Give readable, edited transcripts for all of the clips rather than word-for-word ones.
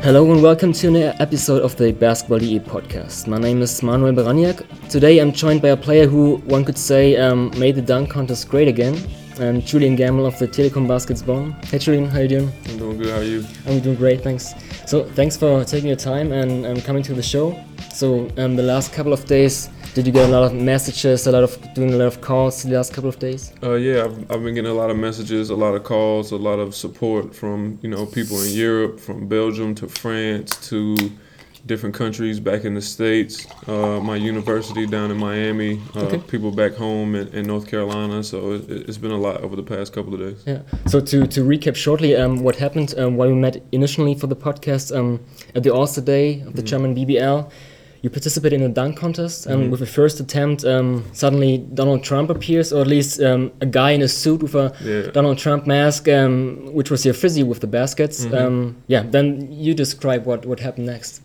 Hello and welcome to an episode of the Basketball DE podcast. My name is Manuel Baraniak. Today I'm joined by a player who, one could say, made the dunk contest great again, Julian Gamble of the Telekom Baskets Bonn. Hey Julian, how you doing? I'm doing good, how are you? I'm doing great, thanks. So thanks for taking your time and coming to the show. So the last couple of days, did you get a lot of messages, doing a lot of calls the last couple of days? Yeah, I've been getting a lot of messages, a lot of calls, a lot of support from people in Europe, from Belgium to France to different countries back in the States. My university down in Miami, people back home in North Carolina. So it's been a lot over the past couple of days. Yeah. So to recap shortly, what happened while we met initially for the podcast at the All-Star Day of the German BBL. You participated in a dunk contest, and with the first attempt, suddenly Donald Trump appears, or at least a guy in a suit with a Donald Trump mask, which was your physio with the baskets. Then you describe what happened next.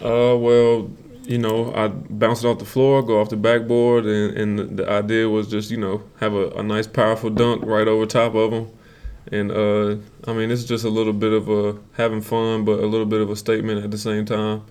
I bounced it off the floor, go off the backboard, and the idea was just, have a nice, powerful dunk right over top of him. And, it's just a little bit of having fun, but a little bit of a statement at the same time.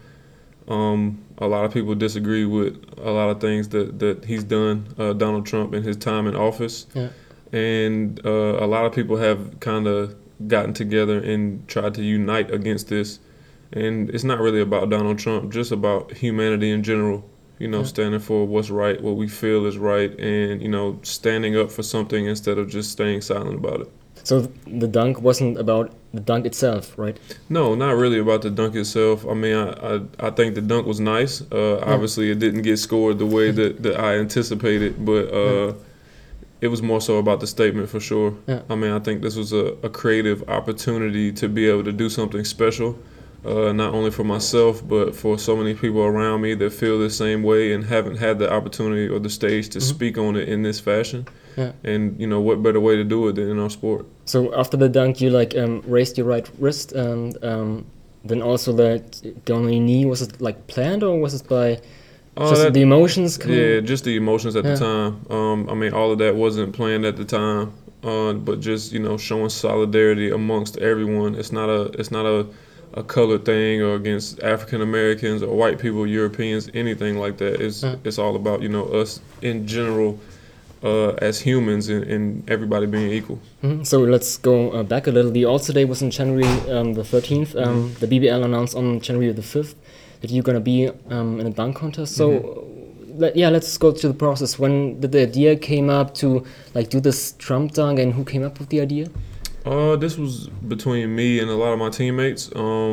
A lot of people disagree with a lot of things that he's done, Donald Trump, in his time in office. Yeah. And a lot of people have kind of gotten together and tried to unite against this. And it's not really about Donald Trump, just about humanity in general, standing for what's right, what we feel is right, and, standing up for something instead of just staying silent about it. So the dunk wasn't about the dunk itself, right? No, not really about the dunk itself. I mean, I think the dunk was nice. Obviously, it didn't get scored the way that I anticipated, but it was more so about the statement for sure. Yeah. I mean, I think this was a creative opportunity to be able to do something special, not only for myself, but for so many people around me that feel the same way and haven't had the opportunity or the stage to speak on it in this fashion. Yeah. And, what better way to do it than in our sport? So after the dunk, you raised your right wrist, and then also the only knee, was it planned, or was it by just the emotions coming? Yeah, just the emotions at the time. All of that wasn't planned at the time, but just, showing solidarity amongst everyone. It's not a colored thing or against African Americans or white people, Europeans, anything like that. It's all about, us in general. As humans and everybody being equal. Mm-hmm. So let's go back a little. The All-Star Day was on January the 13th. The BBL announced on January the 5th that you're going to be in a dunk contest. So let's go to the process. When did the idea came up to do this Trump dunk, and who came up with the idea? This was between me and a lot of my teammates.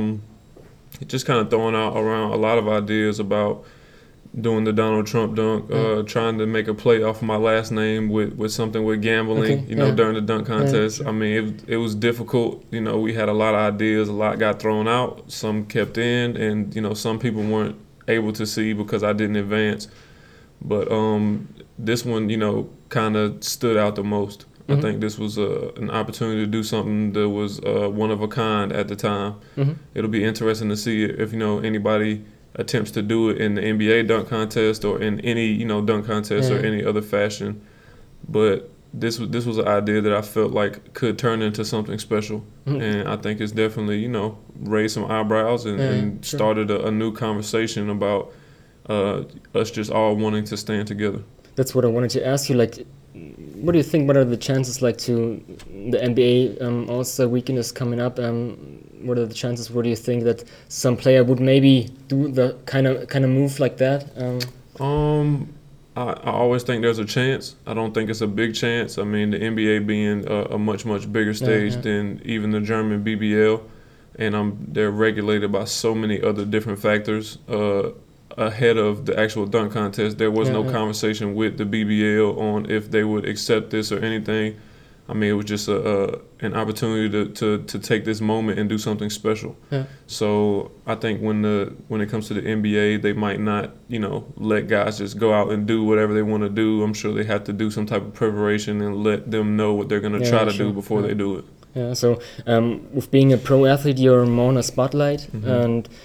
Just kind of throwing out around a lot of ideas about doing the Donald Trump dunk, trying to make a play off of my last name with something with gambling, during the dunk contest. I mean, it was difficult. We had a lot of ideas, a lot got thrown out, some kept in, and, some people weren't able to see because I didn't advance. But this one, kind of stood out the most. I think this was an opportunity to do something that was one of a kind at the time. It'll be interesting to see if, anybody attempts to do it in the NBA dunk contest or in any dunk contest or any other fashion, but this was an idea that I felt like could turn into something special, and I think it's definitely raised some eyebrows and started a new conversation about us just all wanting to stand together. That's what I wanted to ask you. What do you think? What are the chances to the NBA All-Star Weekend is coming up? What are the chances? What do you think that some player would maybe do the kind of move like that? I always think there's a chance. I don't think it's a big chance. I mean, the NBA being a much bigger stage than even the German BBL, and they're regulated by so many other different factors. Ahead of the actual dunk contest, there was no conversation with the BBL on if they would accept this or anything. I mean, it was just an opportunity to take this moment and do something special. Yeah. So I think when it comes to the NBA, they might not, let guys just go out and do whatever they want to do. I'm sure they have to do some type of preparation and let them know what they're going to try to do before they do it. Yeah. So with being a pro athlete, you're more on a spotlight, and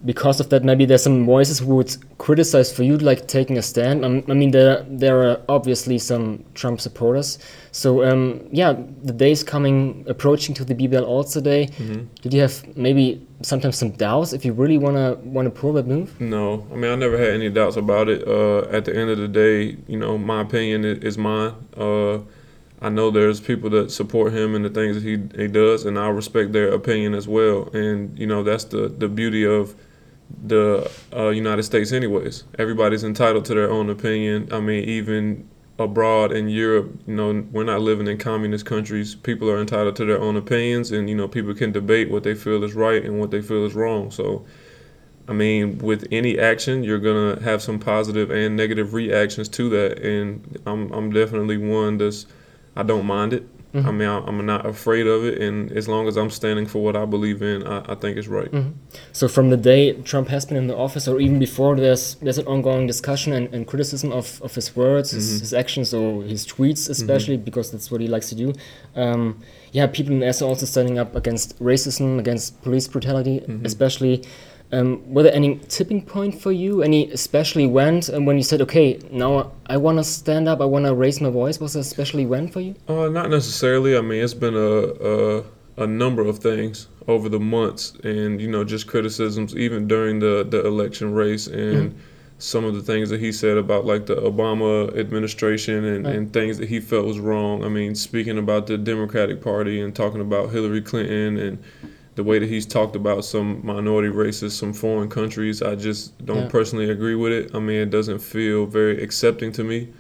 because of that, maybe there's some voices who would criticize for you like taking a stand. I mean, there are obviously some Trump supporters. So yeah, the day's approaching to the BBL All-Star Day. Did you have maybe sometimes some doubts if you really wanna pull that move? No, I mean I never had any doubts about it. At the end of the day, you know, my opinion is mine. I know there's people that support him and the things that he does, and I respect their opinion as well. And you know, that's the beauty of the United States anyways. Everybody's entitled to their own opinion. I mean, even abroad in Europe, you know, we're not living in communist countries. People are entitled to their own opinions, and you know, people can debate what they feel is right and what they feel is wrong. So I mean, with any action, you're gonna have some positive and negative reactions to that, and I'm definitely one I don't mind it. I mean, I'm not afraid of it, and as long as I'm standing for what I believe in, I think it's right. So from the day Trump has been in the office, or even before, there's an ongoing discussion and criticism of his words, his actions, or his tweets especially, because that's what he likes to do. Yeah, people in the US are also standing up against racism, against police brutality, especially. Were there any tipping point for you? Any especially when you said, okay, now I want to stand up, I want to raise my voice? Was there especially when for you? Not necessarily. I mean, it's been a number of things over the months, and you know, just criticisms even during the election race, and some of the things that he said about like the Obama administration and things that he felt was wrong. I mean, speaking about the Democratic Party and talking about Hillary Clinton and the way that he's talked about some minority races, some foreign countries, I just don't personally agree with it. I mean, it doesn't feel very accepting to me.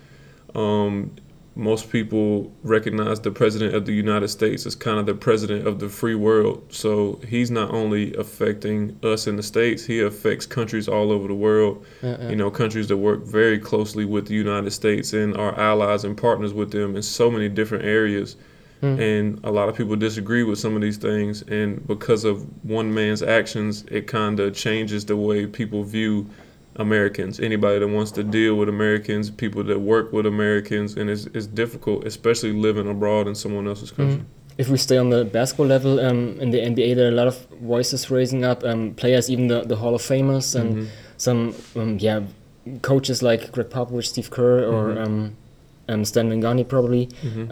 Most people recognize the president of the United States as kind of the president of the free world. So he's not only affecting us in the States, he affects countries all over the world. You know, countries that work very closely with the United States and are allies and partners with them in so many different areas. And a lot of people disagree with some of these things, and because of one man's actions, it kind of changes the way people view Americans. Anybody that wants to deal with Americans, people that work with Americans, and it's difficult, especially living abroad in someone else's country. If we stay on the basketball level, in the NBA, there are a lot of voices raising up, players, even the Hall of Famers, and some coaches like Greg Popovich, Steve Kerr, or Stan Van Gundy probably.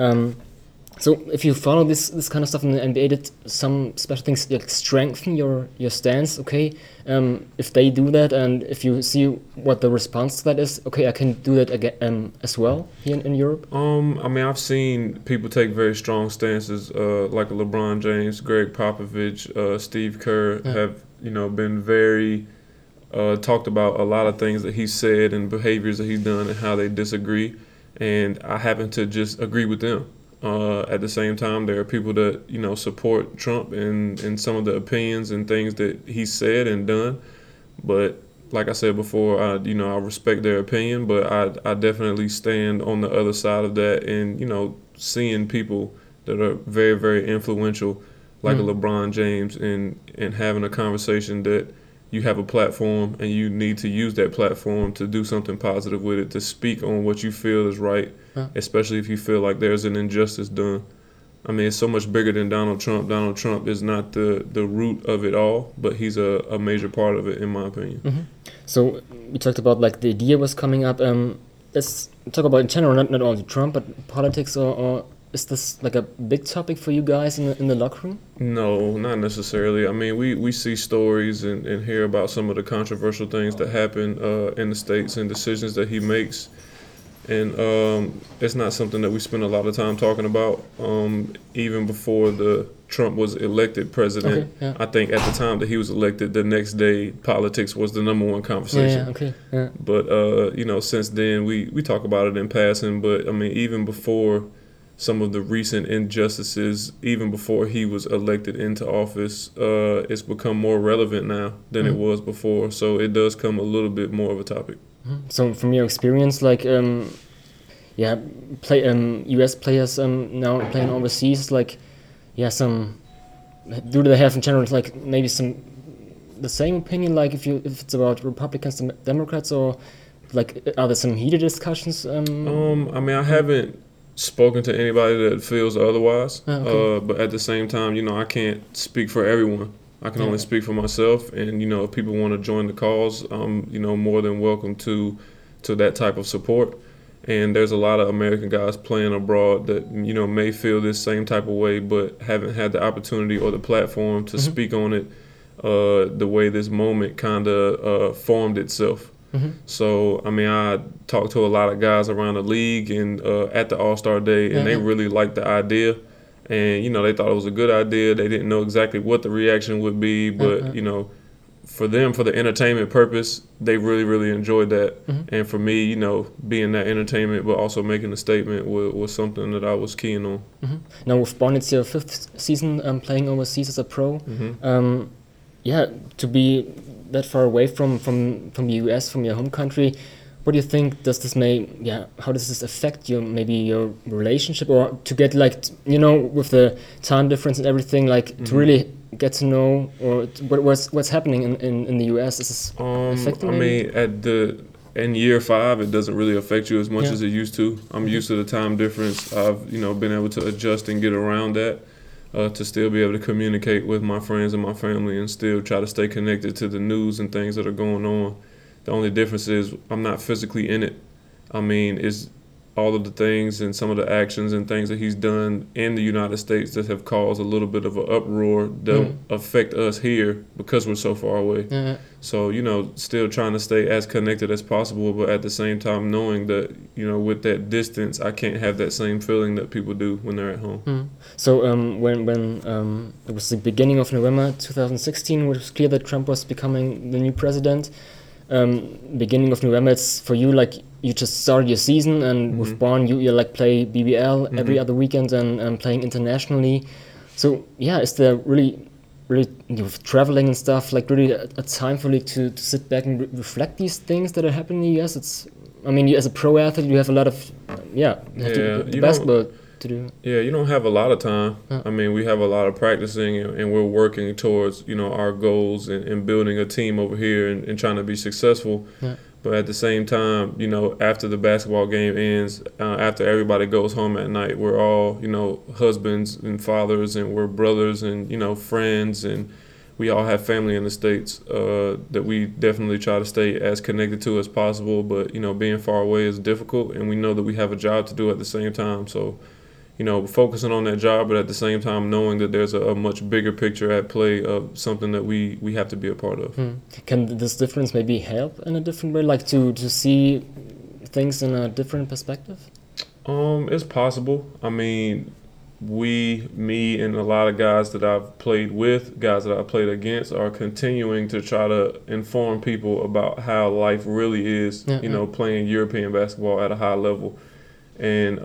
So if you follow this kind of stuff in the NBA, did some special things like strengthen your stance? Okay, if they do that, and if you see what the response to that is, okay, I can do that again as well here in Europe. I mean, I've seen people take very strong stances, like LeBron James, Greg Popovich, Steve Kerr have been very talked about a lot of things that he's said and behaviors that he's done and how they disagree, and I happen to just agree with them. At the same time, there are people that support Trump and some of the opinions and things that he said and done. But like I said before, I respect their opinion, but I definitely stand on the other side of that. And seeing people that are very, very influential, like a LeBron James, and having a conversation that you have a platform and you need to use that platform to do something positive with it, to speak on what you feel is right, especially if you feel like there's an injustice done. I mean, it's so much bigger than Donald Trump. Donald Trump is not the root of it all, but he's a major part of it, in my opinion. So we talked about like the idea was coming up. Let's talk about in general, not only Trump, but politics, or is this like a big topic for you guys in the locker room? No, not necessarily. I mean, we see stories and hear about some of the controversial things that happen in the States and decisions that he makes. And it's not something that we spend a lot of time talking about. Even before Trump was elected president, I think at the time that he was elected, the next day, politics was the number one conversation. But, since then, we talk about it in passing. But, I mean, even before some of the recent injustices, even before he was elected into office, it's become more relevant now than it was before. So it does come a little bit more of a topic. So from your experience, like, U.S. players now playing overseas, like, do they have in general like maybe the same opinion, like if it's about Republicans and Democrats, or like are there some heated discussions? I mean, I haven't spoken to anybody that feels otherwise, but at the same time, I can't speak for everyone. I can only speak for myself, and if people want to join the cause, I'm more than welcome to that type of support. And there's a lot of American guys playing abroad that may feel this same type of way, but haven't had the opportunity or the platform to speak on it the way this moment kind of formed itself. So I talked to a lot of guys around the league and at the All-Star Day, and they really liked the idea. And, they thought it was a good idea. They didn't know exactly what the reaction would be, but, for them, for the entertainment purpose, they really, really enjoyed that. And for me, being that entertainment but also making a statement was something that I was keen on. Now, with Bonn, it's your 5th season playing overseas as a pro. To be that far away from the US, from your home country, what do you think how does this affect your relationship, or to get with the time difference and everything, to really get to know, or what's happening in the US? Is this affecting in year 5 it doesn't really affect you as much as it used to. I'm used to the time difference. I've been able to adjust and get around that to still be able to communicate with my friends and my family and still try to stay connected to the news and things that are going on. The only difference is I'm not physically in it. It's all of the things and some of the actions and things that he's done in the United States that have caused a little bit of an uproar don't affect us here because we're so far away. So, still trying to stay as connected as possible, but at the same time knowing that, with that distance, I can't have that same feeling that people do when they're at home. So when it was the beginning of November 2016, it was clear that Trump was becoming the new president. Beginning of November, it's for you you just started your season, and with Bonn you play BBL every other weekend and playing internationally. So is there really traveling and stuff really a time for you to sit back and reflect these things that are happening in the US? You as a pro athlete, you have a lot of basketball to do. Yeah, you don't have a lot of time. We have a lot of practicing, and we're working towards our goals and building a team over here and trying to be successful. But at the same time, after the basketball game ends, after everybody goes home at night, we're all husbands and fathers, and we're brothers and friends, and we all have family in the States that we definitely try to stay as connected to as possible. But being far away is difficult, and we know that we have a job to do at the same time. So focusing on that job, but at the same time knowing that there's a much bigger picture at play of something that we have to be a part of. Can this difference maybe help in a different way, to see things in a different perspective? It's possible. Me and a lot of guys that I've played with, guys that I've played against, are continuing to try to inform people about how life really is, playing European basketball at a high level. And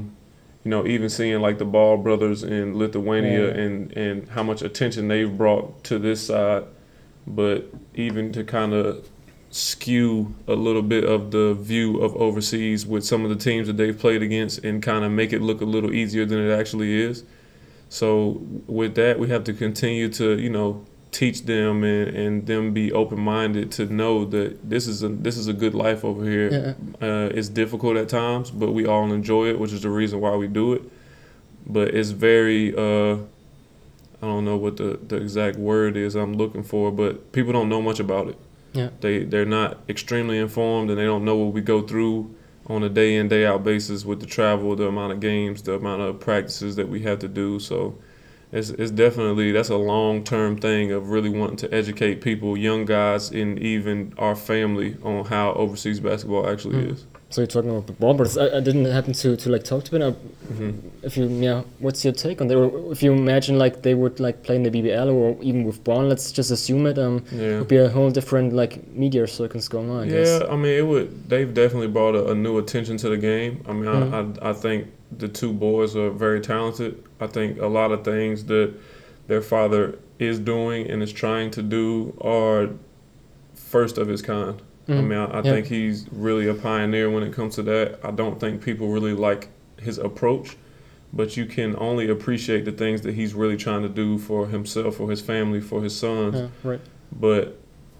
even seeing the Ball brothers in Lithuania and how much attention they've brought to this side, but even to kind of skew a little bit of the view of overseas with some of the teams that they've played against and kind of make it look a little easier than it actually is. So with that, we have to continue to, teach them and them be open-minded to know that this is a good life over here. It's difficult at times, but we all enjoy it, which is the reason why we do it. But it's very I don't know what the exact word is I'm looking for, but people don't know much about it. They're not extremely informed, and they don't know what we go through on a day in, day out basis with the travel, the amount of games, the amount of practices that we have to do. So it's definitely, that's a long-term thing of really wanting to educate people, young guys, and even our family on how overseas basketball actually is. So you're talking about the Ball brothers. I didn't happen to talk to them. If you what's your take on that? Or if you imagine they would play in the BBL or even with Bonn, let's just assume it. Would be a whole different media circus going on. I guess. It would. They've definitely brought a new attention to the game. I think the two boys are very talented. I think a lot of things that their father is doing and is trying to do are first of his kind. I think he's really a pioneer when it comes to that. I don't think people really like his approach, but you can only appreciate the things that he's really trying to do for himself, for his family, for his sons. But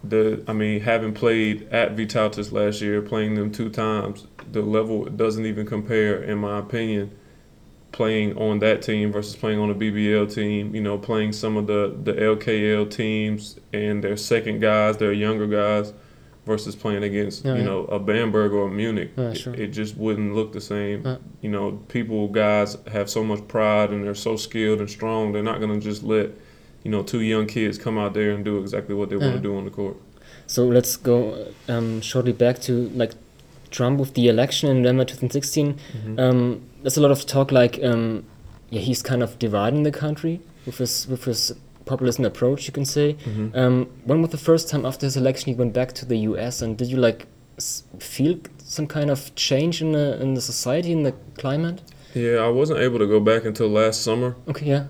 having played at Vytautas last year, playing them 2 times, the level doesn't even compare, in my opinion, playing on that team versus playing on a BBL team, playing some of the LKL teams and their second guys, their younger guys, versus playing against, a Bamberg or a Munich. Sure. It just wouldn't look the same. Guys have so much pride and they're so skilled and strong. They're not going to just let, two young kids come out there and do exactly what they want to do on the court. So let's go shortly back to like Trump with the election in November 2016. There's a lot of talk like, he's kind of dividing the country with his populist approach, you can say. When was the first time after his election he went back to the US, and did you like feel some kind of change in the society, in the climate? Yeah, I wasn't able to go back until last summer. Okay, yeah.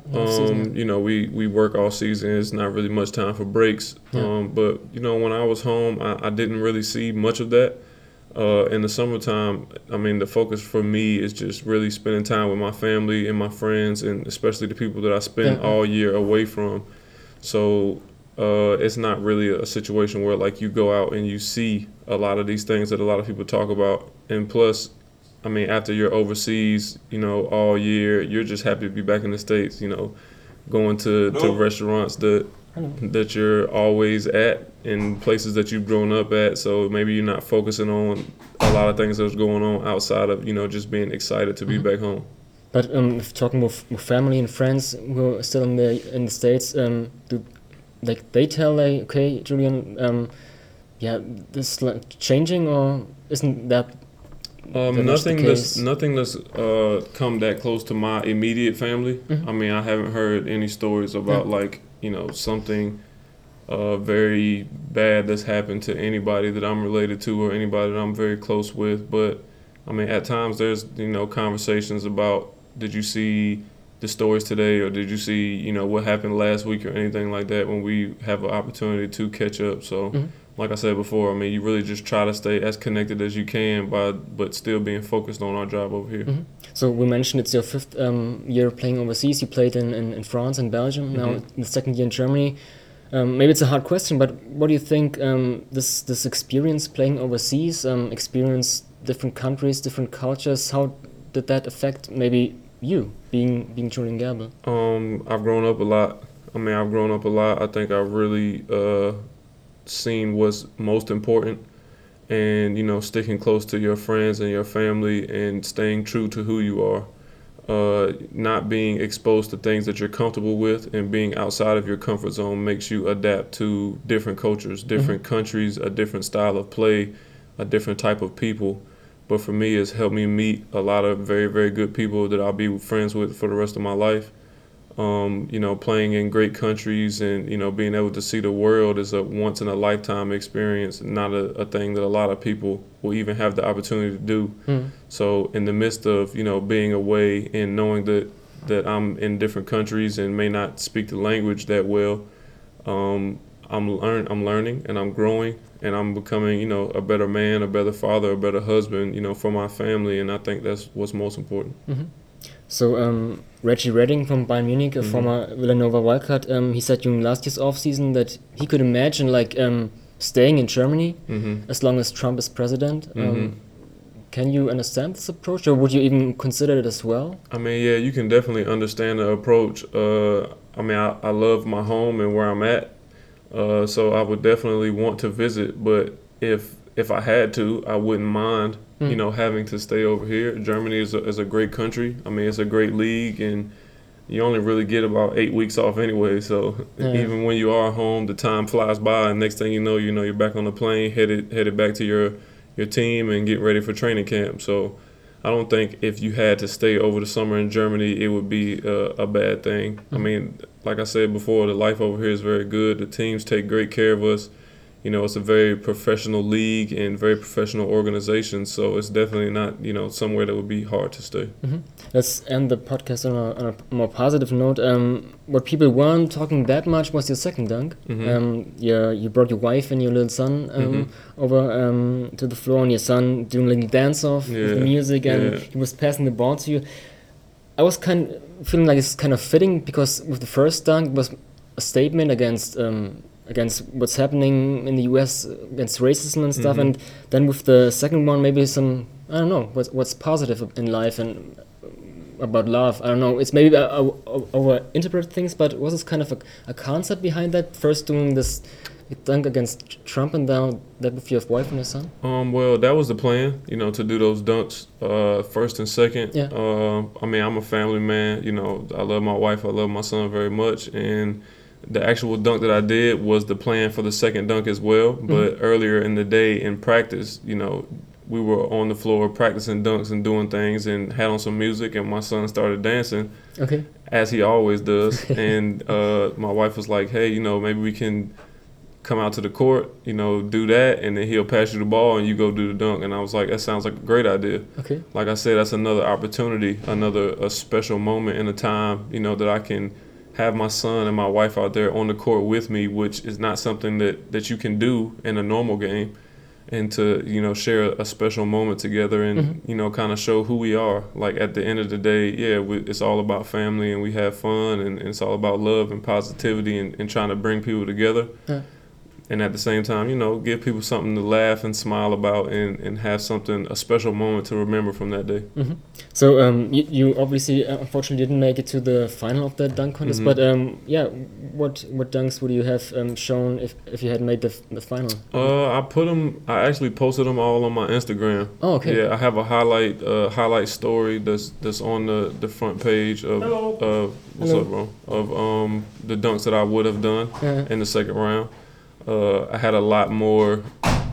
We work all season. It's not really much time for breaks. But when I was home, I didn't really see much of that. In the summertime, the focus for me is just really spending time with my family and my friends, and especially the people that I spend all year away from. So it's not really a situation where like you go out and you see a lot of these things that a lot of people talk about. And plus, after you're overseas, all year, you're just happy to be back in the States, going to restaurants that you're always at in places that you've grown up at. So maybe you're not focusing on a lot of things that's going on outside of, just being excited to be back home. But if talking with family and friends who are still in the States, do they tell like, okay, Julian, this like changing, or isn't that nothing that's come that close to my immediate family. I haven't heard any stories about something very bad that's happened to anybody that I'm related to or anybody that I'm very close with. But at times there's conversations about, did you see the stories today, or did you see what happened last week or anything like that, when we have an opportunity to catch up. So like I said before, you really just try to stay as connected as you can, but still being focused on our job over here. So we mentioned it's your fifth year playing overseas. You played in France and Belgium, now in the second year in Germany. Maybe it's a hard question, but what do you think this experience playing overseas, experience different countries, different cultures, how did that affect maybe you being Julian Gerble? I've grown up a lot. I think I've really seen what's most important, and sticking close to your friends and your family and staying true to who you are, not being exposed to things that you're comfortable with, and being outside of your comfort zone makes you adapt to different cultures, different countries, a different style of play, a different type of people. But for me, it's helped me meet a lot of very, very good people that I'll be friends with for the rest of my life. Playing in great countries and, being able to see the world is a once-in-a-lifetime experience, not a thing that a lot of people will even have the opportunity to do. So in the midst of, being away and knowing that I'm in different countries and may not speak the language that well, I'm learning and I'm growing and I'm becoming, a better man, a better father, a better husband, for my family, and I think that's what's most important. So Reggie Redding from Bayern Munich, a former Villanova wildcard, he said during last year's offseason that he could imagine staying in Germany as long as Trump is president. Can you understand this approach, or would you even consider it as well? Yeah, you can definitely understand the approach. I love my home and where I'm at, so I would definitely want to visit. But if I had to, I wouldn't mind, having to stay over here. Germany is a great country. It's a great league, and you only really get about 8 weeks off anyway. So even when you are home, the time flies by, and next thing you know, you're back on the plane, headed back to your team and getting ready for training camp. So I don't think if you had to stay over the summer in Germany, it would be a bad thing. Like I said before, the life over here is very good. The teams take great care of us. It's a very professional league and very professional organization, so it's definitely not, somewhere that would be hard to stay. Let's end the podcast on a more positive note. What people weren't talking that much was your second dunk. You brought your wife and your little son over to the floor, and your son doing a little dance-off with the music, and he was passing the ball to you. I was feeling like it's kind of fitting, because with the first dunk it was a statement against what's happening in the US, against racism and stuff, and then with the second one, maybe some, I don't know, what's positive in life, and about love. I don't know. It's maybe over interpret things, but was this kind of a concept behind that? First doing this dunk against Trump and now that with your wife and your son? Well, that was the plan, to do those dunks first and second. Yeah. I mean, I'm a family man. I love my wife. I love my son very much. And the actual dunk that I did was the plan for the second dunk as well. But earlier in the day in practice, we were on the floor practicing dunks and doing things and had on some music, and my son started dancing. Okay. As he always does. And my wife was like, hey, maybe we can come out to the court, do that, and then he'll pass you the ball and you go do the dunk. And I was like, that sounds like a great idea. Okay. Like I said, that's another opportunity, a special moment in a time, that I can have my son and my wife out there on the court with me, which is not something that you can do in a normal game. And to, share a special moment together and, kind of show who we are. Like at the end of the day, it's all about family and we have fun and it's all about love and positivity and trying to bring people together. And at the same time, give people something to laugh and smile about and have a special moment to remember from that day. So you obviously, unfortunately, didn't make it to the final of that dunk contest. But what dunks would you have shown if you had made the final? I actually posted them all on my Instagram. Oh, okay. Yeah, I have a highlight story that's on the front page of what's up, bro? Of the dunks that I would have done in the second round. I had a lot more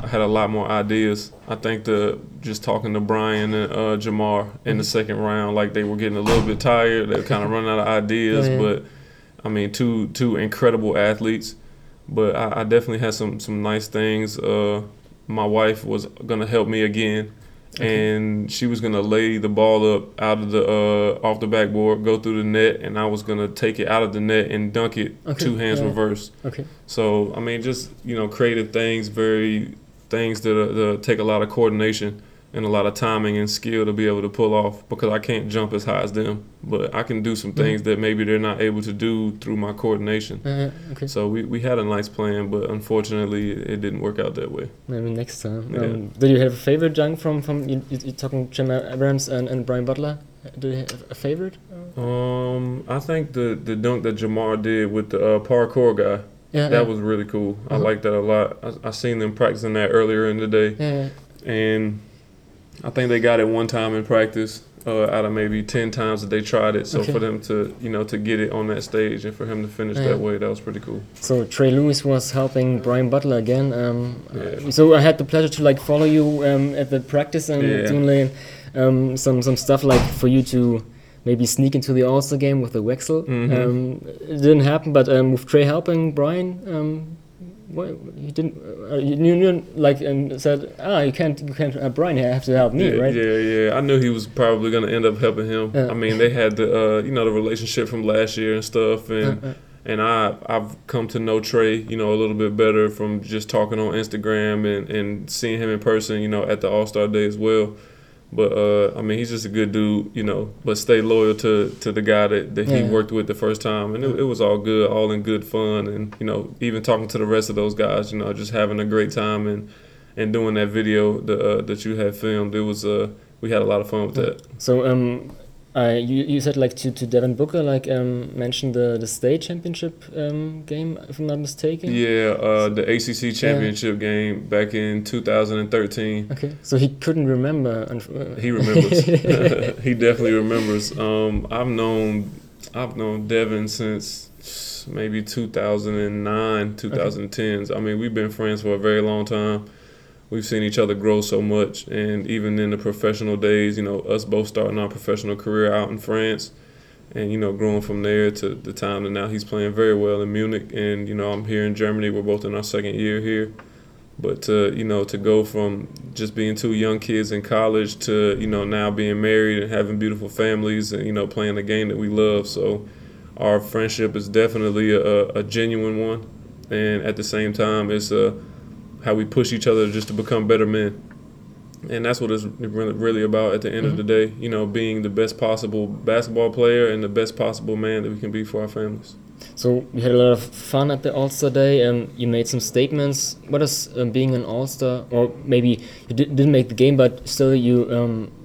ideas. I think just talking to Brian and Jamar in the second round, like they were getting a little bit tired. They were kind of running out of ideas. But I mean, two incredible athletes. But I definitely had some nice things. My wife was gonna help me again. And she was gonna lay the ball up out of the off the backboard, go through the net, and I was gonna take it out of the net and dunk it two hands reverse. Okay. So I mean, just creative things, things that take a lot of coordination and a lot of timing and skill to be able to pull off, because I can't jump as high as them, but I can do some things that maybe they're not able to do through my coordination. Okay. So we had a nice plan, but unfortunately it didn't work out that way. Maybe next time. Did you have a favorite dunk from you're talking Jamal Abrams and Brian Butler? Do you have a favorite? I think the dunk that Jamar did with the parkour guy. That was really cool. I liked that a lot. I seen them practicing that earlier in the day. And I think they got it one time in practice out of maybe 10 times that they tried it. So for them to, to get it on that stage and for him to finish that way, that was pretty cool. So Trey Lewis was helping Brian Butler again. So I had the pleasure to follow you at the practice and doing some stuff for you to maybe sneak into the All-Star game with the Wexel. It didn't happen, but with Trey helping Brian, you didn't and said, you can't Brian, you have to help me, right? Yeah. I knew he was probably going to end up helping him. I mean, they had the the relationship from last year and stuff, and I've come to know Trey a little bit better from just talking on Instagram and seeing him in person at the All-Star day as well. But I mean, he's just a good dude, but stay loyal to the guy that he worked with the first time. And it was all good, all in good fun. And, even talking to the rest of those guys, just having a great time and doing that video that you had filmed. It was, we had a lot of fun with that. So, you said to Devin Booker, mentioned the state championship game, if I'm not mistaken. Yeah, the ACC championship game back in 2013. Okay, so he couldn't remember. He remembers. He definitely remembers. I've known Devin since maybe 2009, 2010s. I mean, we've been friends for a very long time. We've seen each other grow so much, and even in the professional days, us both starting our professional career out in France and, growing from there to the time that now he's playing very well in Munich. And, I'm here in Germany. We're both in our second year here. But, to go from just being two young kids in college to, now being married and having beautiful families and, playing the game that we love. So our friendship is definitely a genuine one. And at the same time, it's how we push each other just to become better men. And that's what it's really about at the end of the day, being the best possible basketball player and the best possible man that we can be for our families. So you had a lot of fun at the All-Star Day, and you made some statements. What does being an All-Star, or maybe you didn't make the game, but still you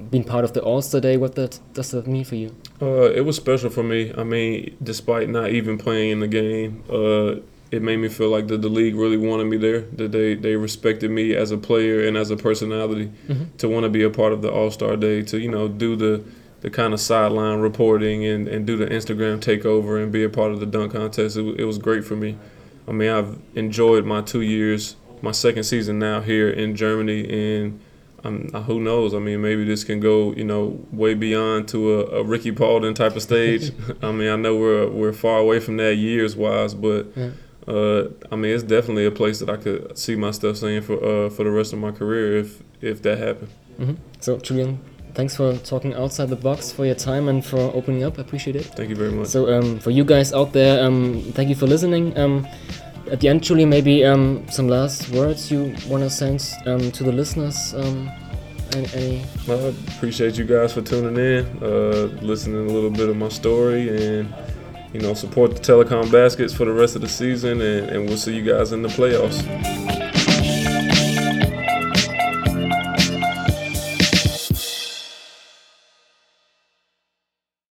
being part of the All-Star Day. What does that mean for you? It was special for me. I mean, despite not even playing in the game, it made me feel like the league really wanted me there, that they respected me as a player and as a personality to want to be a part of the All-Star Day, to, you know, do the kind of sideline reporting and do the Instagram takeover and be a part of the dunk contest. It was great for me. I mean, I've enjoyed my 2 years, my second season now here in Germany, and who knows? I mean, maybe this can go, you know, way beyond to a Ricky Paulding type of stage. I mean, I know we're far away from that years-wise, but I mean, it's definitely a place that I could see my stuff staying for the rest of my career if that happened. So, Julian, thanks for talking outside the box, for your time, and for opening up. I appreciate it. Thank you very much. So, for you guys out there, thank you for listening. At the end, Julian, maybe some last words you want to send to the listeners. Any? I appreciate you guys for tuning in, listening a little bit of my story, and, you know, support the Telecom Baskets for the rest of the season, and we'll see you guys in the playoffs.